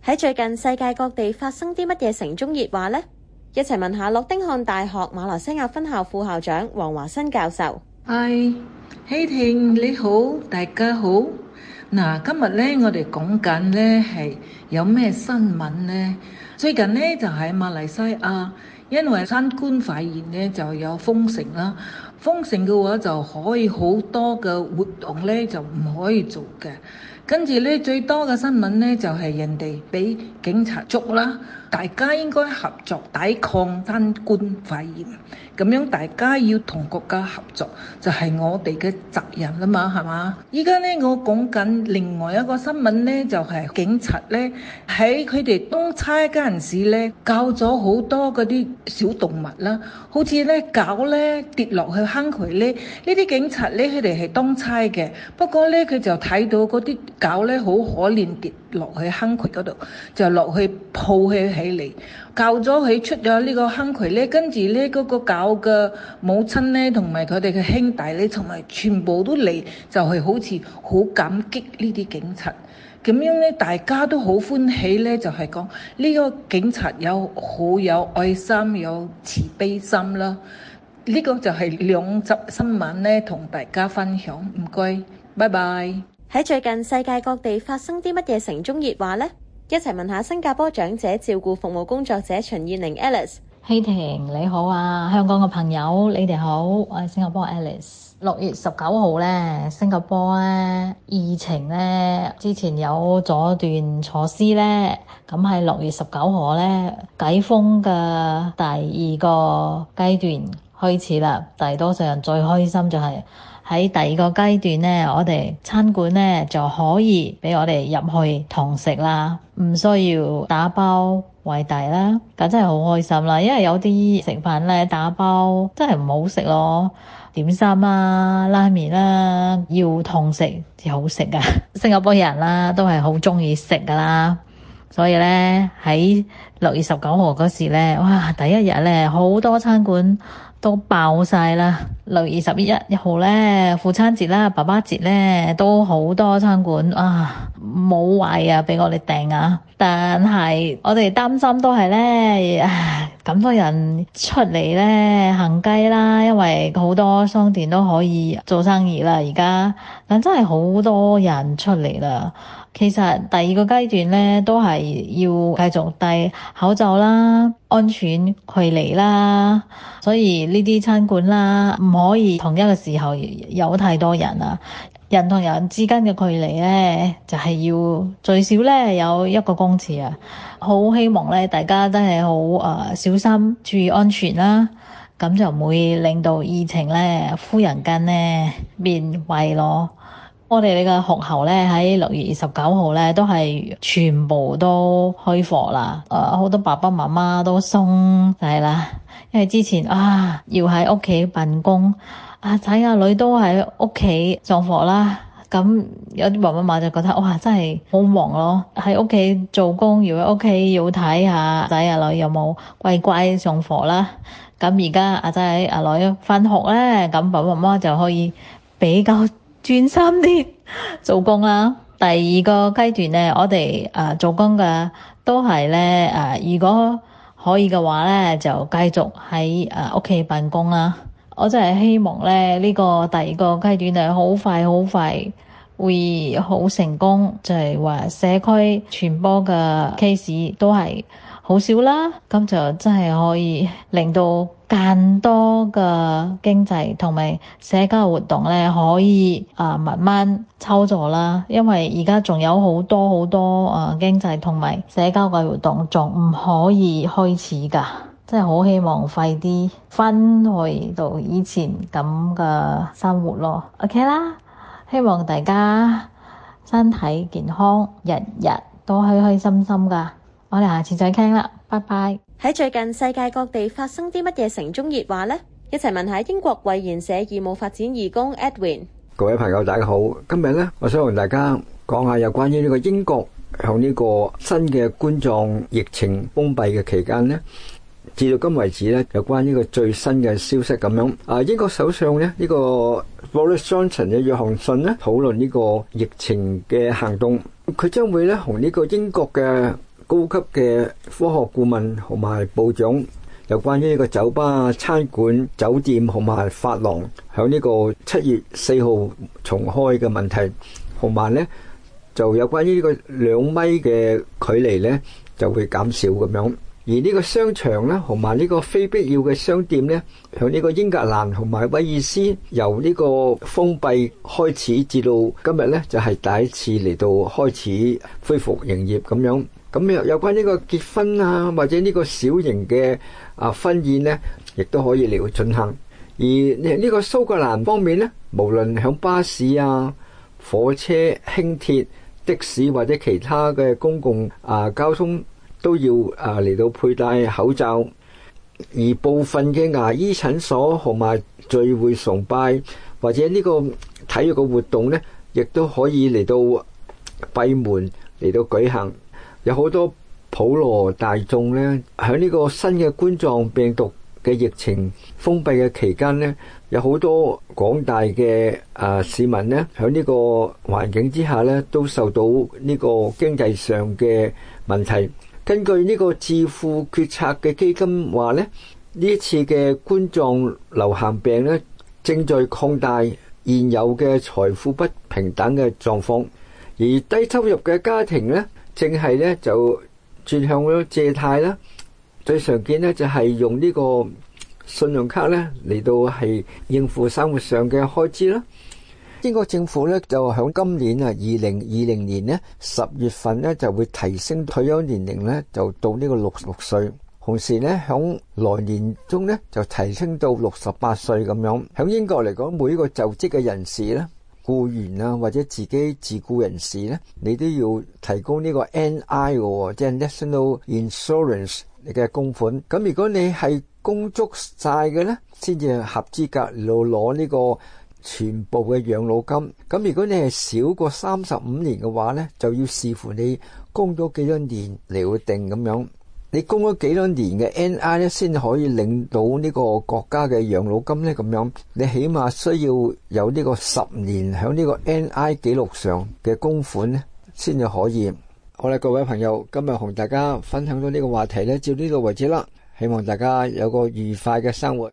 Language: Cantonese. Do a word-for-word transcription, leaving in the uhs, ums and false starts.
喺最近世界各地發生啲乜嘢城中熱話呢？一齊問下諾丁漢大學馬來西亞分校副校長黃華新教授。 嗨，希婷你好，大家好。嗱，今日咧我哋講緊咧係有咩新聞呢？最近咧就喺馬來西亞，因為新冠肺炎咧就有封城啦。封城嘅話就可以好多嘅活動咧就唔可以做嘅。跟住咧最多嘅新聞咧就係人哋俾警察捉啦。大家應該合作抵抗新冠肺炎，咁樣大家要同國家合作，就係我哋嘅責任啦嘛，係嘛？依家咧我講緊另外一個新聞咧，就係警察咧喺佢哋當差嗰陣時咧，教咗好多嗰啲小動物啦，好似咧狗咧跌落去坑渠咧，呢啲警察咧佢哋係當差嘅，不過咧佢就睇到嗰啲狗咧好可憐跌落去坑渠嗰度，就落去抱佢起嚟，教咗佢出咗呢個坑渠咧，跟住咧嗰個狗嘅母親咧，同埋佢哋嘅兄弟咧，同埋全部都嚟，就係好似好感激呢啲警察。咁樣咧，大家都好歡喜咧，就係講呢個警察有好有愛心，有慈悲心啦。呢個就係兩則新聞咧，同大家分享。唔該，拜拜。 喺最近世界各地發生啲乜嘢城中熱話呢？一齊問下新加坡長者照顧服務工作者陳燕玲 Alice。 希婷你好啊，香港嘅朋友你哋好，我係新加坡 Alice。六月十九號咧，新加坡咧疫情咧之前有咗段措施咧，咁喺六月十九號咧解封嘅第二個階段開始啦。大多數人最開心就係喺第二個階段咧，我哋餐館咧就可以俾我哋入去堂食啦，唔需要打包為大啦，咁真係好開心啦。因為有啲食飯咧打包真係唔好食咯，點心啊、拉麵啦，要堂食至好食噶。新加坡人啦都係好中意食噶啦，所以咧喺六月十九號嗰時咧，哇！第一日咧好多餐館都爆晒啦。六月十一號咧，父親節啦、爸爸節咧，都好多餐館啊冇位啊俾我哋訂啊。但係我哋擔心都係咧，咁多人出嚟咧行街啦，因為好多商店都可以做生意啦而家，但真係好多人出嚟啦。其實第二個階段咧都係要繼續戴口罩啦、安全距離啦，所以呢啲餐館啦唔可以同一個時候有太多人啊。人同人之間嘅距離咧就係、是、要最少咧有一個公尺啊。好希望咧大家真係好誒小心注意安全啦，咁就唔會令到疫情咧忽然間咧變壞咯。我哋呢個學校咧喺六月二十九號咧都係全部都開課啦，誒、呃、好多爸爸媽媽都鬆晒啦，因為之前啊要喺屋企辦公，啊仔啊女都喺屋企上課啦，咁有啲爸爸媽媽就覺得哇真係好忙咯，喺屋企做工，要喺屋企要睇下仔啊女有冇乖乖上課啦。咁而家阿仔阿女返學咧，咁爸爸媽媽就可以比較專心啲做工啦。第二個階段咧，我哋誒、呃、做工嘅都係咧誒，如果可以嘅話咧，就繼續喺誒屋企辦公啦。我真係希望咧呢、這個第二個階段係好快好快會好成功，就係、是、話社區傳播嘅 case 都係好少啦，咁就真係可以令到更多嘅經濟同埋社交活動咧可以啊、呃、慢慢操作啦。因為而家仲有好多好多啊、呃、經濟同埋社交嘅活動仲唔可以開始噶，真係好希望快啲翻去到以前咁嘅生活咯。OK 啦，希望大家身體健康，日日都開開心心噶。我哋下次再傾啦，拜拜。 喺最近世界各地發生啲乜嘢城中熱話呢？一齊問下英國衛研社義務發展義工 Edwin。 各位朋友大家好，今日呢，我想同大家講下有關於呢個英國向呢個新嘅冠狀疫情封閉嘅期間呢，至到今為止呢，有關呢個最新嘅消息咁樣。啊，英國首相呢，呢、呢個 Boris Johnson 嘅約翰遜呢，討論呢個疫情嘅行動，佢將會呢同呢個英國嘅高級嘅科學顧問同埋部長，有關於呢個酒吧、餐館、酒店同埋髮廊響呢個七月四號重開嘅問題，同埋咧就有關於呢個兩米嘅距離咧就會減少咁樣。而呢個商場咧，同埋呢個非必要嘅商店咧，響呢個英格蘭同埋威爾斯由呢個封閉開始至到今日咧，就係第一次嚟到開始恢復營業咁樣。咁有有關呢個結婚啊，或者呢個小型嘅啊婚宴咧，亦都可以嚟到進行。而呢個蘇格蘭方面咧，無論響巴士啊、火車、輕鐵、的士或者其他嘅公共啊交通，都要啊嚟到佩戴口罩，而部分嘅牙醫診所同埋聚會崇拜或者呢個體育嘅活動呢，亦都可以嚟到閉門嚟到舉行。有好多普羅大眾呢，喺呢個新嘅冠狀病毒嘅疫情封閉嘅期間呢，有好多廣大嘅啊市民呢，喺呢個環境之下呢，都受到呢個經濟上嘅問題。根據呢個智庫決策嘅基金話咧，呢一次嘅冠狀流行病咧，正在擴大現有嘅財富不平等嘅狀況，而低收入嘅家庭咧，正係咧就轉向咗借貸啦。最常見咧就係用呢個信用卡咧嚟到係應付生活上嘅開支啦。英國政府咧就響今年啊，二零二零年咧十月份咧就會提升退休年齡咧，就到呢個六十六歲。同時咧響來年中咧就提升到六十八歲咁樣。響英國嚟講，每一個就職嘅人士咧，僱員啊或者自己自僱人士咧，你都要提供呢個 N I 嘅，即係 National Insurance 嘅供款。咁如果你係供足晒嘅咧，先至合資格嚟攞呢個全部嘅養老金。咁如果你係少過三十五年嘅話呢，就要視乎你供咗幾多年嚟定咁樣。你供咗幾多年嘅 N I 咧，先可以領到呢個國家嘅養老金呢？咁樣你起碼需要有呢個十年喺呢個 N I 記錄上嘅供款呢，先至可以。好啦，各位朋友，今日同大家分享到呢個話題呢，就呢度為止啦。希望大家有個愉快嘅生活。